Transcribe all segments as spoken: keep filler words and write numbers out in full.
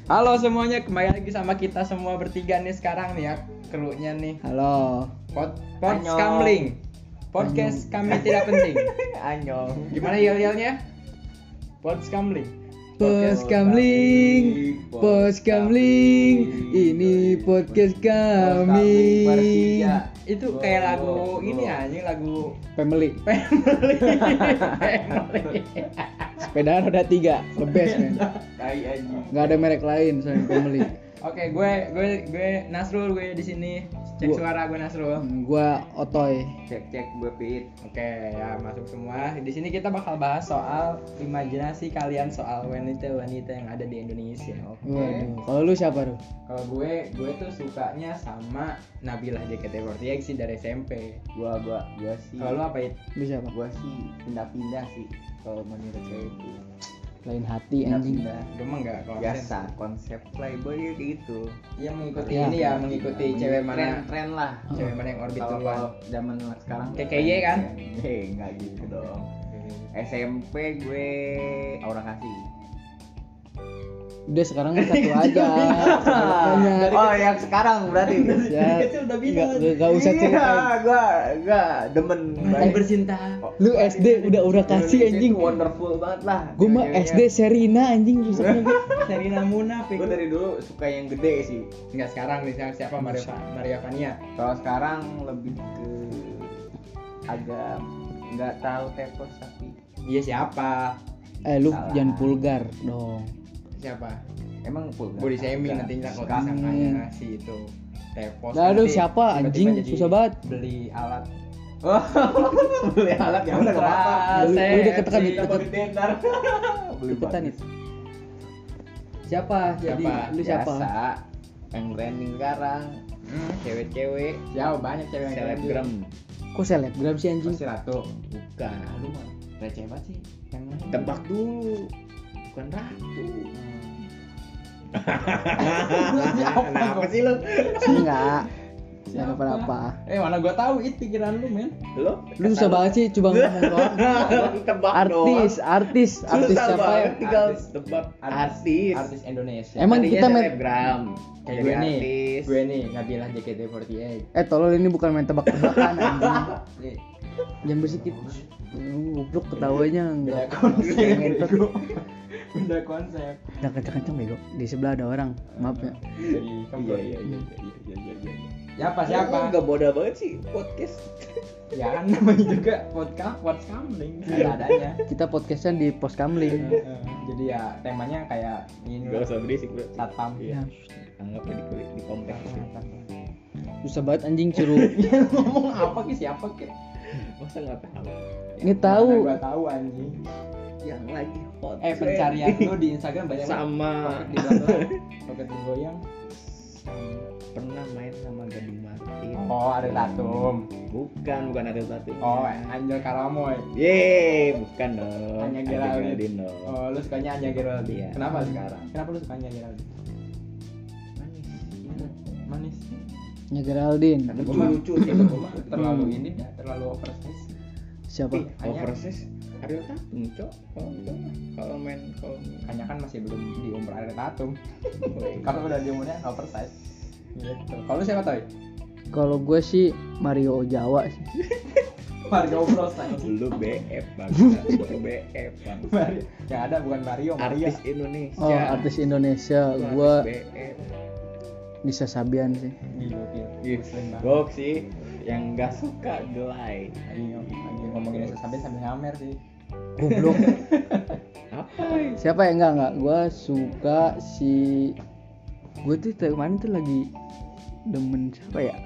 Halo semuanya, kembali lagi sama kita semua bertiga nih sekarang nih ya, krunya nih. Halo. Pod Podskamling. Podcast kami tidak penting. Anyong. Gimana yel-yelnya? Podskamling. Podskamling, Podskamling, ini podcast kami. Itu kayak lagu ini anjing, lagu Family. Family. Family. Sepeda roda tiga, the best man. Tai anjing. Gak ada merek lain selain Family. Oke, gue gue gue Nasrul, gue di sini. Cek Gua- suara gue Nasrul. Hmm, Gua Otoy. Cek cek gue Pit. Oke, ya masuk semua. Di sini kita bakal bahas soal imajinasi kalian soal wanita-wanita yang ada di Indonesia. Oke. Waduh. Kalau lu siapa lu? Kalau gue, gue tuh sukanya sama Nabila J K T empat delapan sih dari S M P. Gua gua gua sih. Kalau lu apa itu? Lu siapa? Gua sih pindah-pindah sih kalau menurut saya itu. Lain hati anjing. Pindah-pindah. Gue mah enggak kalau Biasa konsep playboy kayak gitu. Iya mengikuti Ya. ini ya, mengikuti Ya, cewek tren, mana, tren lah. cewek mana yang orbit Kalau duluan. kalau zaman sekarang Kayak K Y kan? Eh, enggak gitu dong. S M P gue Aura Kasih. Udah sekarang kan satu aja. Banyak. Oh, yang sekarang berarti. Ya. Kecil udah Gak, bilang. gak, gak usah Iya, ceritain. gua gua demen Masih bercinta. Lu S D udah udah kasih anjing. Itu wonderful banget lah. Gua mah S D Serina anjing rusaknya gua. Serina Munafik. Gue dari dulu suka yang gede sih. Enggak sekarang nih siapa- siapa Maria Maria Vania. Kalau sekarang lebih ke agak nggak tahu tepos tapi Iya siapa? Eh lu Salah. jangan vulgar dong. Siapa? emang full Body shaming nantinya kalau Suka. disangkanya si itu tepos. Lah, aduh, nanti siapa, tiba-tiba anjing? jadi Susah banget. Beli alat. Oh, beli alat ya udah nggak apa-apa. Lu- lu udah ketekan, Kontrasepsi. deket- Body tender. Beli Ikutan bagus. itu. Siapa? Jadi Siapa? lu siapa? Biasa yang trending sekarang Hmm. cewek-cewek Jauh banyak cewek yang selebgram. Kok selebgram sih anjing? Pasti Ratu. Bukan. Lu mah receh banget sih. Yang lain. Tebak dulu. Bukan ratu. Kenapa sih lu? Enggak. Jangan apa-apa. Eh mana gua tahu itu pikiran lu men. Lo? Lu susah banget sih coba ngomong doang. Tebak Artis, artis, artis Susah siapa ya? banget, tinggal Artis. tebak artis. Artis Indonesia. Emang Tadinya kita main- selebgram. Kayak Jadi gue nih, artis. gue nih Nabila J K T empat delapan. Eh tolol ini bukan main tebak-tebakan anjing. Eh, Jangan bersikit. Lu goblok ketawanya Beda enggak. konsep. Ngentot. bego. Beda konsep. Jangan kenceng-kenceng bego. Di sebelah ada orang. Maaf ya. Jadi Iya kamu iya iya iya iya iya iya. Siapa siapa? Enggak bodoh banget sih podcast. Ya kan namanya juga podcast podcast ada adanya. Kita podcastnya di Poskamling. Jadi ya temanya kayak ini Enggak usah berisik, Bro. satpam. Iya. Anggaplah di kulit di kompleks. Susah banget anjing suruh. Iya ngomong apa ki siapa ki? Masa enggak tahu? Ini tahu. Mana gua tahu anjing. Yang lagi hot. Eh pencarian lu di Instagram banyak banget. sama Pocket di belakang, pocket goyang. pernah main sama Gading Martin. Oh, ada Tatum. Bukan, bukan ada satu. Oh, Angel Karamoy. Yeay, bukan dong. Anya Ada Geraldine. Geraldine dong. Oh, lu sukanya Anya Geraldine. Iya. Kenapa sekarang? Kenapa lu suka Anya Geraldine? Manis. Manis. Nya Geraldine. Karena Gua mah- lucu sih. Gua mah terlalu ini ya, terlalu oversize. Siapa? Ih, overseas Ariel Tatum, Cok. Kalau enggak mah, kalau main kalau Kayaknya kan masih belum di umur ada Tatum. Kalau udah di umurnya oversize. Gitu. Kalau lu siapa Toy? Kalau gue sih Mario Ojawa sih. Mario Bros anjing. lu B F bang, lu B F bang. Mario. Yang ada bukan Mario, Mario. Artis Indonesia. Oh, artis Indonesia. Lu Gue artis B F. Nisa Sabian sih. Gila, gila. Ih, Muslim banget. Gok sih yang nggak suka gelai. Ayo, ayo ngomongin Nisa Sabian sambil ngamer sih. Goblok. Apa? Siapa ya? Enggak enggak. Gue suka si. Gue tuh tadi kemarin tuh lagi demen siapa ya?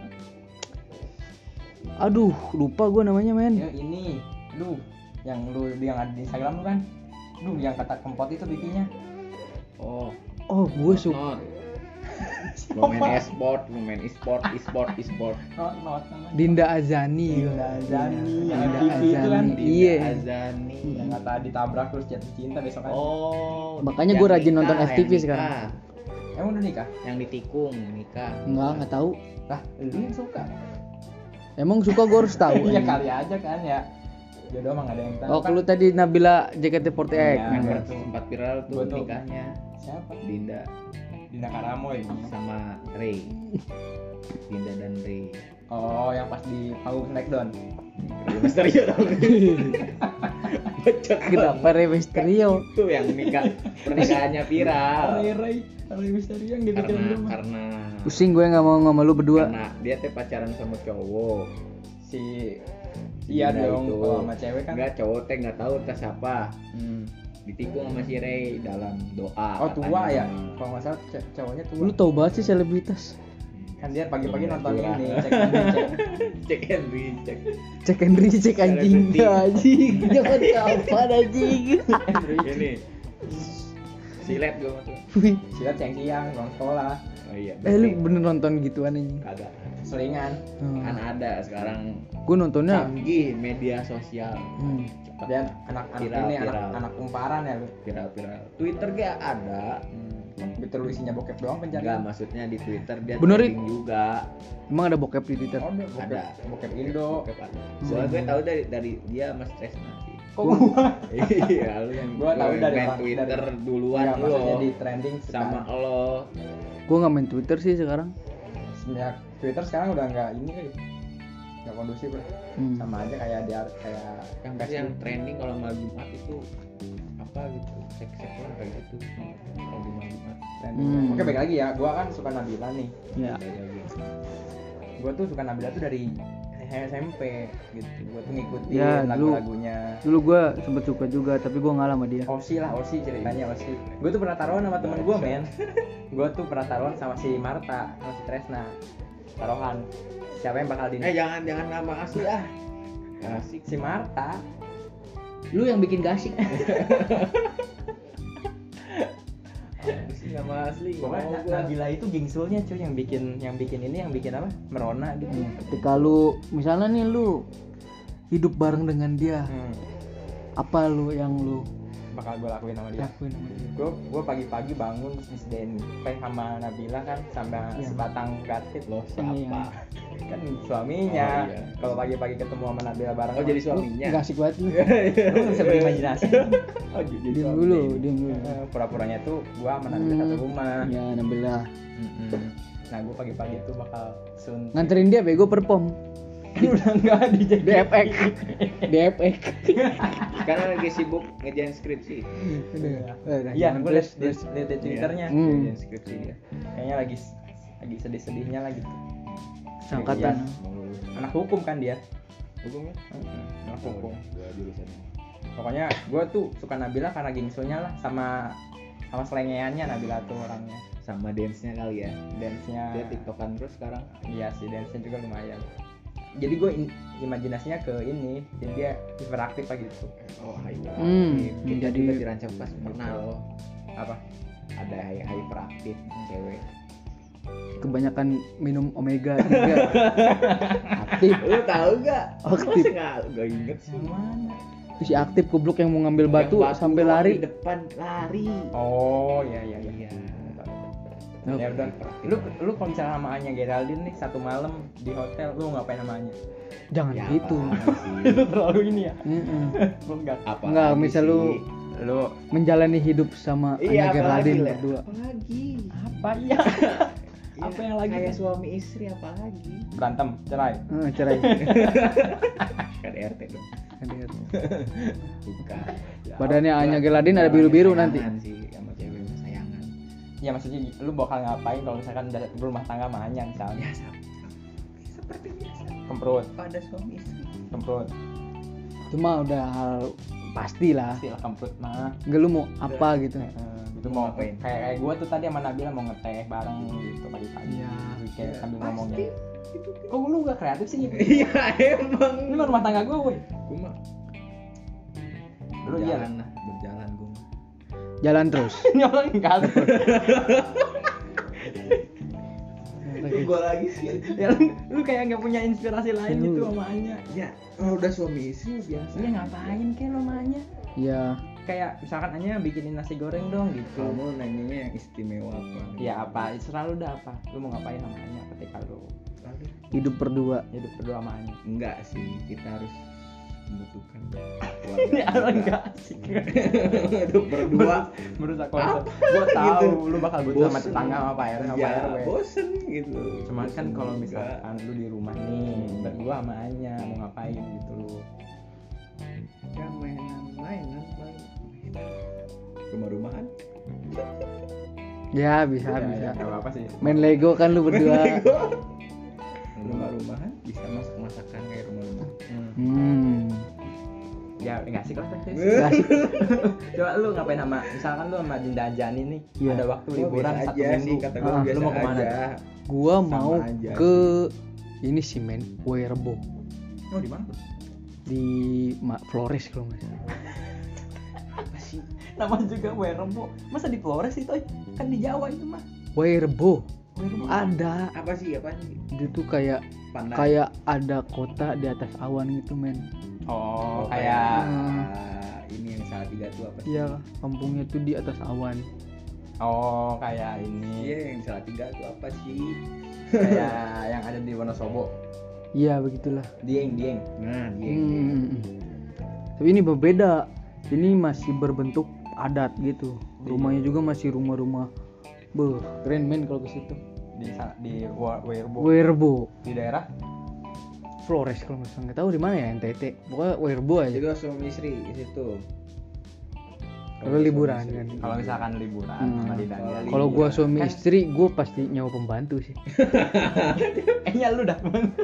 Aduh, lupa gue namanya men. Ya ini, lu yang lu yang ada di Instagram lu kan? Lu yang kata kempot itu bikinnya. Oh, Oh, gue suka. not. Lu main e-sport, lu main e-sport, e-sport, e-sport. Not not namanya. Dinda Azani. Dinda Azani, yang Dinda M V P itu kan? Azani. Dinda Iya. Azani. Yang kata ditabrak terus jatuh cinta besok kan. Oh, Makanya yang gua rajin nikah, nonton F T V yang nikah. sekarang. Emang udah nikah? Yang ditikung nikah. Enggak, enggak tahu. Lah, lu yang suka. Emang suka gue harus tahu. Iya anjing. kali aja kan ya. Jodoh emang gak ada yang tahu. Oh, kan? kalau tadi Nabila J K T empat delapan. Iya. Yang betul. sempat viral tuh Gua tuh. nikahnya Siapa? Dinda. Dinda Karamoy. sama Ray. Dinda dan Ray. Oh, yang pas di panggung Smackdown. Rey Mysterio dong. Bocot Kenapa Rey Mysterio? itu yang nikah pernikahannya viral. Ray Ray Ray Mysterio yang gitu Karena karena Pusing gue nggak mau sama lu berdua. karena dia teh pacaran sama cowok. si iya Dinda dong itu. kalau sama cewek kan. Enggak, cowok teh enggak tahu entah siapa. Hmm. Ditikung sama si Ray dalam doa. Oh, tua katanya. ya? Kalau nggak salah c- cowoknya tua. Lu tau banget sih selebritas. Kan dia pagi-pagi nonton Curang. ini, cek ini, cek. Cek and recheck. Cek and recheck anjing. Selebriti. Anjing. Jangan kapan anjing. Ini silet gue tuh. Wih. Silat siang-siang, pulang sekolah, Oh iya. Eh lu bener nonton gituan anjing. Kagak. selingan. Kan ada sekarang Gue nontonnya canggih media sosial. hmm. Cepat Dan anak-anak Viral, ini viral. anak anak kumparan ya lu. viral-viral. Twitter gak ada. Hmm. Twitter lu isinya bokep doang Enggak, pencarian. maksudnya di Twitter dia Bener, trending juga. Emang ada bokep di Twitter? Oh, ada bokep, Ada. bokep Indo. Bokep ada. Soalnya gue tahu dari dari dia Mas Tresna sih. Kok gua? Iya, lu yang Gua tahu yang dari main orang- Twitter dari- duluan Iya, lo maksudnya di trending sama sekarang. lo. Gue nggak main Twitter sih sekarang. Semenjak Twitter sekarang udah nggak ini kali. Nggak kondusif lah. Hmm. Sama aja kayak dia kayak Yang pasti yang trending kalau malam Jumat itu apa gitu, seks-seks lah kayak gitu. Kalau di malam Jumat. trending. Hmm. Oke, baik lagi ya. Gua kan suka Nabila nih. Ya. Beda lagi. Gua tuh suka Nabila tuh dari S M P gitu. Gua tuh ngikutin Ya, dulu- lagu-lagunya. Dulu gue sempet suka juga, tapi gue ngalah sama dia. Osi lah, Osi ceritanya Osi. Gue tuh pernah taruhan sama temen gue, men. Gue tuh pernah taruhan sama si Marta, sama si Tresna. Taruhan. Siapa yang bakal di Eh jangan jangan nama asli ah. Gak asik. si Marta. Lu yang bikin gasik. Apa sih nama asli? Gak Pokoknya mau Na- gua. Nabila itu gingsulnya cuy yang bikin yang bikin ini yang bikin apa? Merona gitu. Ketika lu misalnya nih lu hidup bareng dengan dia, Hmm. apa lu yang lu Bakal gue lakuin sama dia. lakuin sama dia? Gue gue pagi-pagi bangun terus disediain teh sama Nabila kan sama Iya. sebatang gartit Lo Iya. siapa? kan suaminya. Oh, iya. Kalau pagi-pagi ketemu sama Nabila bareng. Oh jadi Lu suaminya. nggak asik banget lu. lu nggak bisa berimajinasi. Oh jadi Diam suami. dulu, diam dulu. Eh, Pura-puranya tuh gue sama Nabila Hmm. satu rumah. Ya Nabila. Mm-mm. Nah gue pagi-pagi tuh bakal sun. Nganterin dia bego perform. Udah nggak di D F X. D F X. Karena lagi sibuk ngerjain skripsi. Iya, gue liat liat liat di twitternya. Hmm. Ngerjain skripsi dia. Kayaknya lagi lagi sedih-sedihnya lagi. Sangkatan. Anak hukum kan dia. Hukumnya? Anak hukum. Gua jurusannya. Pokoknya gue tuh suka Nabila karena gingsulnya lah sama sama selengeannya Nabila tuh orangnya. Sama dance-nya kali ya. Dance-nya. Dia tiktokan terus sekarang. Iya sih, dance-nya juga lumayan. Jadi gue imajinasinya ke ini, jadi dia hiperaktif lah gitu. Oh, hyper. Hmm, Kita jadi- juga dirancang pas pernah loh. Apa? Ada hy- hyperaktif cewek. Kebanyakan minum omega juga. Aktif. Lu tahu gak? Aktif. Masa nggak nggak inget sih? Yang mana? Terus si aktif goblok yang mau ngambil batu, Yang sampai doang lari. di depan lari. Oh iya iya iya. Iya. Oh. Ya udah. Lu lu kalau misalnya sama Anya Geraldine nih satu malam di hotel, lu ngapain sama Anya? Jangan Ya, gitu. apaan sih? Itu terlalu ini ya. Mm-mm. Lu enggak. Apa Enggak, lagi misal sih? lu Lu menjalani hidup sama Iya, Anya apa Geraldine lagi, Le? berdua. Apa lagi? apa ya? Ya, Apa yang lagi? Kayak suami istri apa lagi? Berantem, cerai. Eh, cerai. Kan R T dong. Bukan. Ya, Badannya apa? Anya Geraldine ada biru-biru nanti. Sayangan sih sama cewek kesayangan. Ya maksudnya lu bakal ngapain kalau misalkan udah berumah tangga sama Anya misalnya? Ya sama. Seperti biasa. Kemprut, Pada suami istri. kemprut. Cuma udah hal pasti lah. Pastilah kemprut mah. Enggak lu mau apa gitu. Eh, itu mau Ngapain? kayak kayak gue tuh tadi sama Nabila mau ngeteh bareng gitu pagi-pagi. Iya. Weekend Ya, sambil pasti. ngomongnya. Itu kan. Kok lu gak kreatif sih? Iya emang. Ini mah rumah tangga gue, woi. Gue mah Lu iya. berjalan lah, berjalan gue mah. Jalan terus. Ini orang enggak. Gue lagi sih. Ya lu, lu kayak nggak punya inspirasi lain Lu- gitu sama Anya. Ya kalau udah suami istri biasa. Iya ngapain kayak lo sama Anya? Ya, Kayak misalkan Anya bikinin nasi goreng dong gitu. Kamu nanyanya yang istimewa apa? Ya apa? Selalu udah apa? Lu mau ngapain sama Anya ketika lu hidup berdua. hidup berdua sama Anya? Enggak sih, kita harus membutuhkan Ini orang enggak asik. itu berdua Merusak konsep. Gua tahu Gitu. lu bakal butuh sama Bosen. tetangga sama Pak R W sama ya Pak R W. bosen gitu. Cuman kan Bosen kalau juga. misalkan lu di rumah nih, berdua sama Anya mau ngapain gitu lu. ya mainan mainan main rumah-rumahan Ya bisa Ya, bisa. ya, enggak apa-apa sih. Main Lego kan lu berdua. rumah-rumahan bisa masak masakan kayak rumah-rumahan. Hmm. Hmm. Ya enggak asik lah tapi. Nggak asik. Coba lu ngapain sama misalkan lu sama Dinda Jani nih, Iya. ada waktu Gua liburan biasa satu aja minggu. sih kata gue Ah, biasa lu mau kemana? aja. Gua Sama mau aja ke ini sih men, Werebo Oh, di mana tuh? di Ma- Flores kalau nggak salah. Apa sih? Nama juga Werebo. Masa di Flores itu? Kan di Jawa itu mah. Werebo Werebo. ada. Apa sih? Apa sih? Dia tuh kayak Pandan. kayak ada kota di atas awan gitu men. Oh, Oh, kayak kayak ini yang salah tiga tuh apa sih? Iya, kampungnya tuh di atas awan. oh, kayak ini. Iya yang salah tiga tuh apa sih? Kayak yang ada di Wonosobo. Iya begitulah. Dieng, Dieng. Nah dia. Hmm. Tapi ini berbeda. Ini masih berbentuk adat gitu. Rumahnya juga masih rumah-rumah. Beuh, keren men kalau ke situ. Di sa- di Wa- Werebo. Werebo, Di daerah Flores kalau nggak salah. Nggak tahu di mana ya N T T. Pokoknya Werebo aja. Jadi suami istri di situ. Kalau liburan kan. kalau misalkan liburan Hmm. sama Dinda Kalau Jani. Kalau gua suami Kan- istri, gua pasti nyawa pembantu sih. Eh, ya lu dah.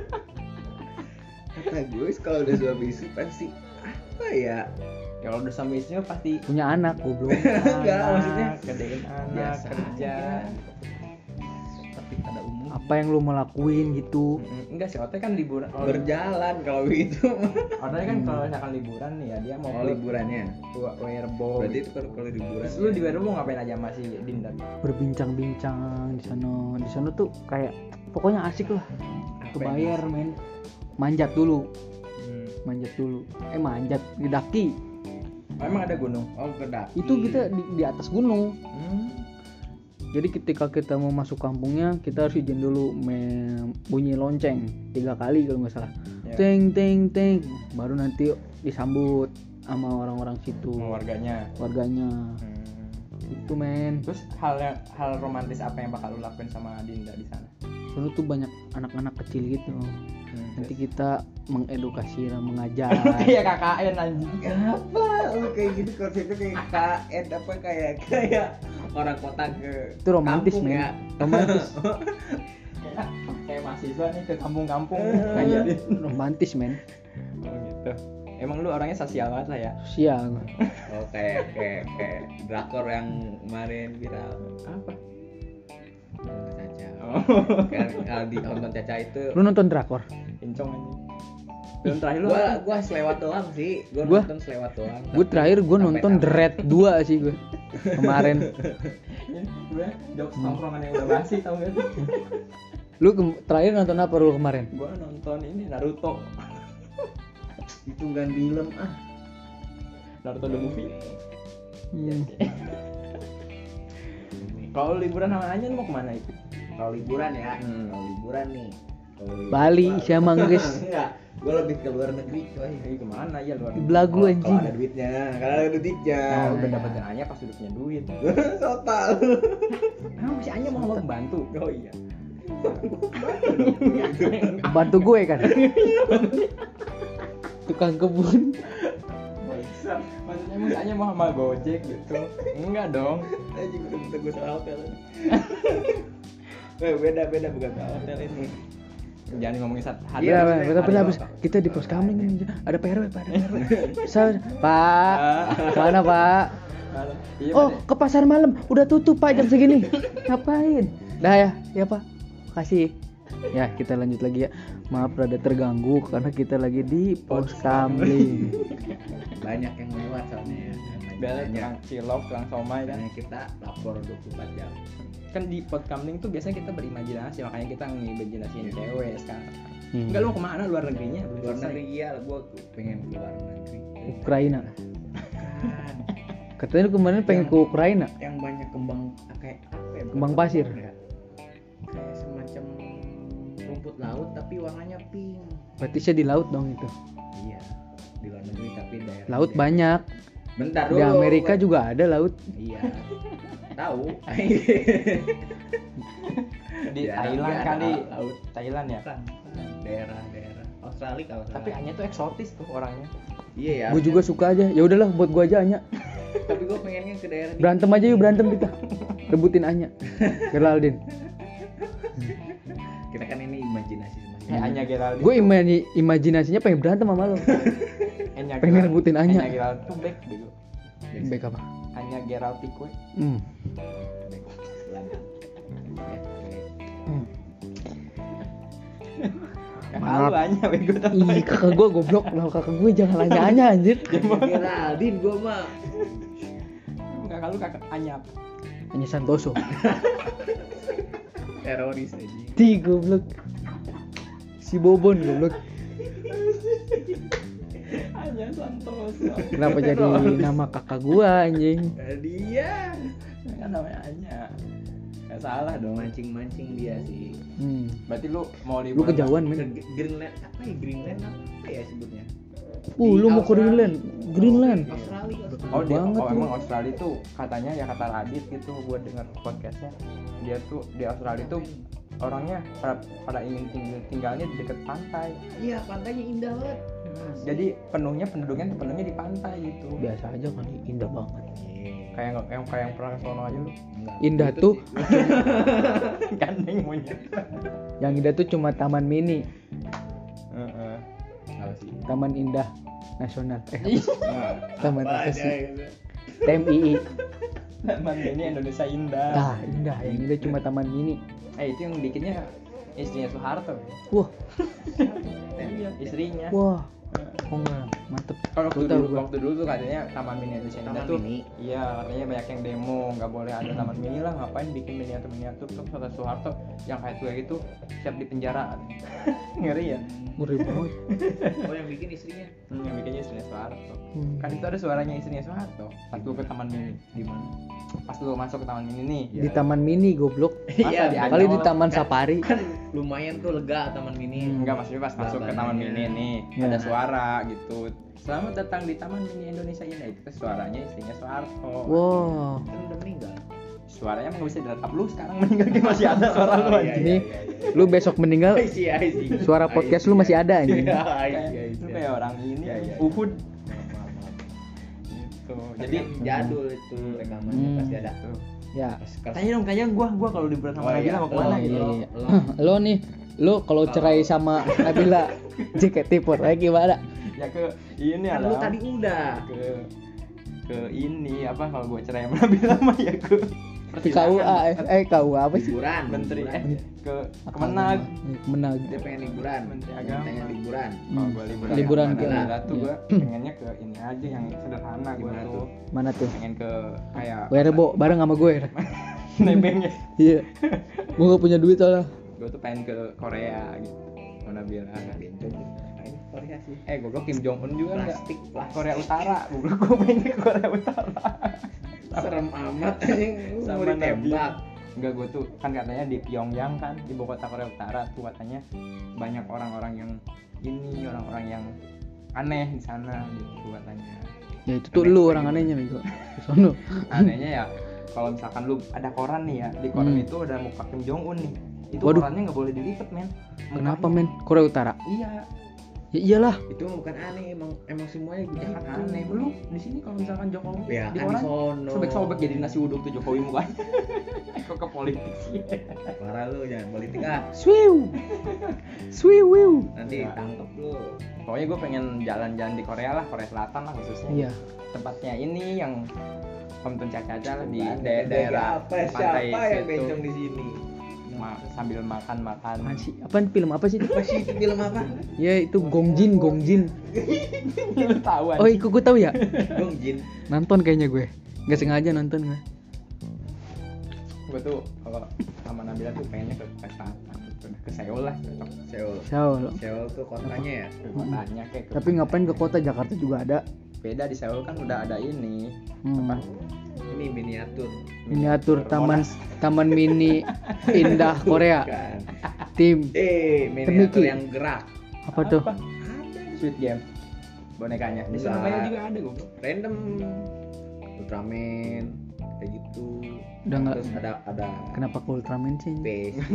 Kata gue kalau udah suami istri pasti apa ya? Kalau udah sama istri mah pasti Punya anak, goblok. Enggak, anak, maksudnya gedein anak, biasa kerja. Tapi pada umum Apa yang lu mau lakuin gitu. Mm, Enggak sih, Ote kan liburan. Kalau berjalan kalau gitu. Ote kan kalau misalkan liburan nih ya dia mau Oh ke liburannya. Wa- Werebo. Berarti itu kalau kalau liburan. Terus lu di Werebo ngapain aja sama si Dinda? Berbincang-bincang di sana. Di sana tuh kayak pokoknya asik lah. Kebayar men. Manjat dulu, Hmm. manjat dulu. Eh manjat di daki. Oh, emang ada gunung? Oh kedaki. Itu kita di, di atas gunung. Hmm. Jadi ketika kita mau masuk kampungnya, kita harus izin dulu me- bunyi lonceng tiga kali kalau nggak salah. Ya. Teng teng teng. Baru nanti disambut sama orang-orang situ, Sama warganya. warganya. Hmm. Itu men. Terus hal yang hal romantis apa yang bakal lu lakuin sama Dinda di sana? Dulu tuh banyak anak-anak kecil gitu. Hmm. Nanti kita mengedukasi dan mengajar. Kayak K K N anjing. Apa? Lu kayak gitu konsepnya kayak K N apa kayak kayak orang kota ke Itu romantis kampung men. ya. Romantis. Kayak kayak mahasiswa nih ke kampung-kampung. Kayak romantis men. Oh gitu. Emang lu orangnya sosial banget lah ya? Sosial. Oh kayak kayak kayak drakor yang kemarin viral. Apa? Nonton Caca. Oh. Kan kalau di nonton Caca itu Lu nonton drakor? Incong anjing. Film terakhir lu gua apa? gua selewat doang sih. Gua, Gua- nonton selewat doang. Gue tapi terakhir gue sampai nonton tamat. The Red dua sih gue kemarin. Ini gue jokes tongkrongan yang udah basi tau gak sih? Lu ke- terakhir nonton apa lu kemarin? Gue nonton ini Naruto. Itu kan film ah. Naruto the movie. Hmm. Kalau liburan sama Anya lu mau kemana itu? Kalau liburan ya. Hmm. Kalau liburan nih. Kalau liburan- Bali Wah, siapa guys? Enggak. Gua lebih ke luar negeri coy. Eh, kemana ya luar? Belagu Kalau- anjing. Kalau ada duitnya, kalau ada duitnya. Nah, Oh, udah iya. dapetin Anya pas udah punya duit. Total. Nah, si Anya mau mau bantu. Oh iya. Bantu gue kan. Tukang kebun. Maksudnya emang si Anya mau sama Gojek gitu? Enggak dong. Anjing udah bentar gue salah hotel. Eh, beda beda bukan salah hotel ini. Jangan ngomongin saat hari. Iya, maksudnya betul betul ada habis apa? kita di pos kamling ini ada P R W, Pak. Ada P R W. Saya, Pak. Mana, Pak? Iya, Oh, Pak. ke pasar malam. Udah tutup, Pak, jam segini. Ngapain? Dah ya. Ya, Pak. Makasih. Ya, kita lanjut lagi ya. Maaf rada terganggu karena kita lagi di pos kamling. Banyak yang lewat soalnya ya. Biasanya Banyak. tukang cilok, tukang somai kan. Makanya kita lapor dua puluh empat jam. Kan di podcamling tuh biasanya kita berimajinasi, makanya kita ngimajinasiin cewek sekarang. Hmm. Enggak, lu kemana luar negerinya? Belum Luar selesai. negeri iya, gua pengen keluar negeri. Ukraina. Katanya lu kemarin pengen ke Ukraina. Yang banyak kembang kayak apa ya? Kembang bukan pasir. ya? Kayak semacam rumput laut tapi warnanya pink. Berarti saya di laut dong itu. Iya. di luar negeri tapi daerah Laut banyak. bentar Di dulu Amerika gua- juga ada laut. iya tahu Di Daerah- Thailand daerah kali. laut Thailand ya. kan daerah-daerah Australia kalau nggak Tapi salah. Anya tuh eksotis tuh orangnya. iya ya Gue juga suka aja. Ya udahlah buat gua aja Anya. tapi gue pengennya ke daerah di- Berantem aja yuk berantem kita. Rebutin Anya. Geraldine. kita kan ini imajinasi Eh Anya Geraldine. Gue imani imajinasinya pengen berantem sama lo. Anya pengen Gerald- rebutin Anya. Anya Gerald tuh back bego. Baik apa? Anya Gerald Tikwe. Hmm. Hmm. Kakak lu Anya bego tuh. Ih kakak gua goblok. Lah kakak gue jangan nanya Anya anjir. Geraldine gue mah Kakak lu kakak Anya apa? Anya Santoso. teroris aja Di goblok. Si Bobon goblok. Anya Santoso. Kenapa jadi nama kakak gua anjing? dia Kan namanya Anya. Gak salah dong. mancing-mancing dia sih Hmm. Berarti lu mau Lu liburan? kejauhan ke men. Greenland apa ya Greenland apa ya sebutnya Uh, lu mau ke Greenland? Greenland. Australia Oh, dia, banget oh lu. emang Australia tuh katanya ya kata Radit gitu gua denger podcastnya dia tuh di Australia tuh orangnya pada, pada ingin tinggal, tinggalnya di dekat pantai. iya pantainya indah banget Jadi penuhnya penduduknya penuhnya di pantai gitu. Biasa aja kali, indah banget. Kayak nggak- yang kayak yang pernah ke sono aja lu. Indah tuh, Gandeng monyet. yang indah tuh cuma Taman Mini, Heeh. apa sih Taman Indah Nasional. Eh, nah, Taman apa apa aja sih? gitu. T M I I. Taman ini Indonesia indah. Ah, indah. Yang indah cuma Taman Mini. Eh itu yang bikinnya istrinya Soeharto. Wah, Iya, istrinya. wah. Oh enggak, mantep. Kalau waktu Gua tahu dulu, gua. waktu dulu tuh katanya Taman Mini Indonesia Indah Taman tuh, Mini. iya katanya banyak yang demo, nggak boleh ada Taman Mini lah, ngapain bikin miniatur miniatur tuh kata Soeharto yang kayak tua gitu siap di penjara. Ngeri ya. Ngeri banget. oh yang bikin istrinya Hmm, yang bikinnya istrinya Soeharto. Hmm. Kan itu ada suaranya istrinya Soeharto. Pas lu ke Taman Mini, di mana pas lu masuk ke Taman Mini nih. Di Taman Mini goblok. Iya, di Kali di Ancol. Taman Kan- Safari. kan lumayan tuh lega Taman Mini Hmm. Enggak, maksudnya pas masuk ke Taman Mini nih Ya. ada suara gitu. Selamat datang di Taman Mini Indonesia Indah. Itu tuh suaranya istrinya Soeharto. Wow. kan udah meninggal Suaranya emang nggak bisa direkam, lu sekarang meninggal dia masih ada suara lu Oh, iya, anjing. Ini lu besok meninggal, I see, I see. suara I podcast see, lu masih I ada see. anjing. Iya, I Kayak, see, I lu see. kayak orang ini Iya, iya. Uhud Maaf, maaf, maaf. gitu. Jadi Jadi jadul itu rekamannya Hmm. pasti ada tuh. Ya. Pas- pas- Tanya dong, tanya gua, gua kalau liburan sama Oh, Nabila iya. mau kemana Oh, gitu. iya, Lo- iya. lo- Lo nih, lo kalau cerai sama Nabila J K T empat lagi gimana? Ya ke ini kan ada lu tadi udah ke ke ini apa kalau gua cerai sama Nabila mah ya ke Ke K U A, eh K U A apa sih? liburan menteri liburan. eh ke Kemenag. Kemenag. dia pengen liburan Menteri Agama. pengen liburan Kalau gua liburan, Liburan sama ke- Nabila tuh iya. gua pengennya ke ini aja yang sederhana gua Gimana tuh. tuh? Mana tuh? Pengen ke kayak Werebo bareng sama gue. nebeng ya. Iya. Gue gak punya duit soalnya. Gua tuh pengen ke Korea gitu. Sama Nabila. Bencong. Nah, ini Korea sih Eh, goblok Kim Jong Un juga enggak? plastik plastik Korea Utara. Goblok gua pengen ke Korea Utara. serem amat anjing lu mau Sama ditembak Enggak, gue tuh kan katanya di Pyongyang kan, ibu kota Korea Utara tuh katanya banyak orang-orang yang ini, orang-orang yang aneh di sana gitu katanya. Ya itu tuh lu orang anehnya bego. Di sono. Anehnya ya kalau misalkan lu ada koran nih ya, di koran Hmm. itu ada muka Kim Jong Un nih. Itu Waduh. korannya nggak boleh dilipet, men. Kenapa Mukanya. men? Korea Utara. Iya, Ya iyalah. itu bukan aneh emang emang semuanya ya gitu kan aneh. Lu di sini kalau misalkan Jokowi ya di kan di koran sono sobek-sobek jadi nasi uduk tuh Jokowi mukanya. Kok ke politik sih? parah lu jangan politik ah Swiu. Swiu. nanti Ya. tangkep lu Pokoknya gue pengen jalan-jalan di Korea lah, Korea Selatan lah khususnya. Iya. Tempatnya ini yang Om Tun Caca lah di Bukan, da- beda daerah apa pantai siapa yang situ. bencong di sini Ma- sambil makan-makan. Apaan sih? Apaan film apa sih itu? apa sih itu film apa Ya itu Gongjin, Gongjin. Lu tahu Oh, ikut gue tahu ya. Dong Jin Nonton kayaknya gue. Gak sengaja nonton gue. Gue tuh kalau sama Nabila tuh pengennya ke Korea Selatan, udah ke Seoul lah, cocok. Seoul Seoul. Seoul tuh kotanya ya Ke kotanya kayak ke- Tapi ngapain ke kota Jakarta juga ada. beda di Seoul kan udah ada ini Hmm. apa? ini miniatur Miniatur taman Monas. Taman Mini Indah Korea. kan Tim eh miniatur Temiki. yang gerak apa tuh? Sweet Game. bonekanya. Di Enggak. Surabaya juga ada goblok. Random Ultraman kayak gitu. Udah nggak- Terus ada ada Kenapa ke Ultraman sih? P S G.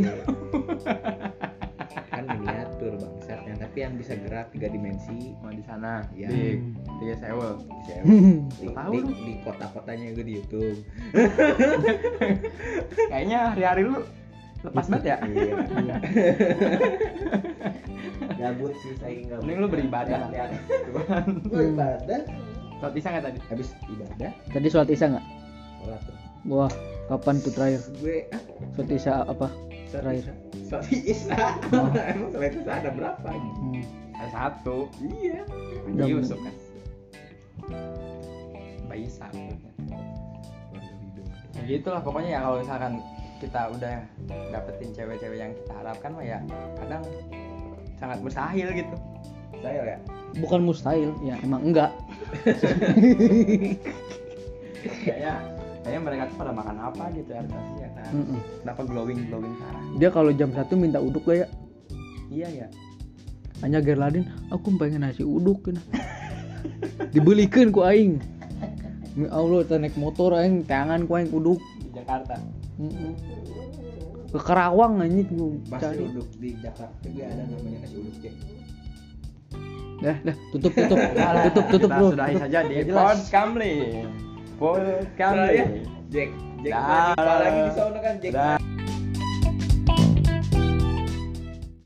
Kan miniatur bangsatnya, tapi yang bisa gerak tiga dimensi. Oh di sana Iya. di di Seoul. Bisa di, Tahu di, lu. di kota-kotanya gue di YouTube. Kayaknya hari-hari lu lepas banget ya. Iya. Gabut sih saya enggak. Mending lu beribadah. Gue ibadah. Sholat isya nggak tadi? Habis ibadah Tadi sholat isya nggak? sholat tuh. Wah, kapan tuh terakhir? Gue ah, Sholat isya apa? Terakhir. sholat isya. Emang sholat isya ada berapa? Hmm. Ada satu. Iya. Haji Udah, Yusuf kan. Mbak Isa. Ya gitulah pokoknya ya kalau misalkan kita udah dapetin cewek-cewek yang kita harapkan mah ya kadang sangat mustahil gitu. Saya ya. Bukan mustahil, ya emang enggak. Kayaknya kayaknya mereka tuh pada makan apa gitu ya ya kan. Mm-mm. Kenapa glowing glowing parah? Dia kalau jam satu minta uduk gak ya? Iya ya. Hanya Gerladin, aku pengen nasi uduk kan. Dibelikan ku aing. Ya Allah, kita naik motor aing tangan ku aing uduk. Di Jakarta. Mm-mm. Ke Karawang anjing gua Pasti cari. uduk di Jakarta juga ada namanya nasi uduk cek. Dah, dah, tutup, tutup. Udah, tutup, tutup, kita bro. sudahi Tutup. saja di Nggak jelas. Podcast Podcast Saya Jack Jack Dah. lagi di sana kan Jack. Dah.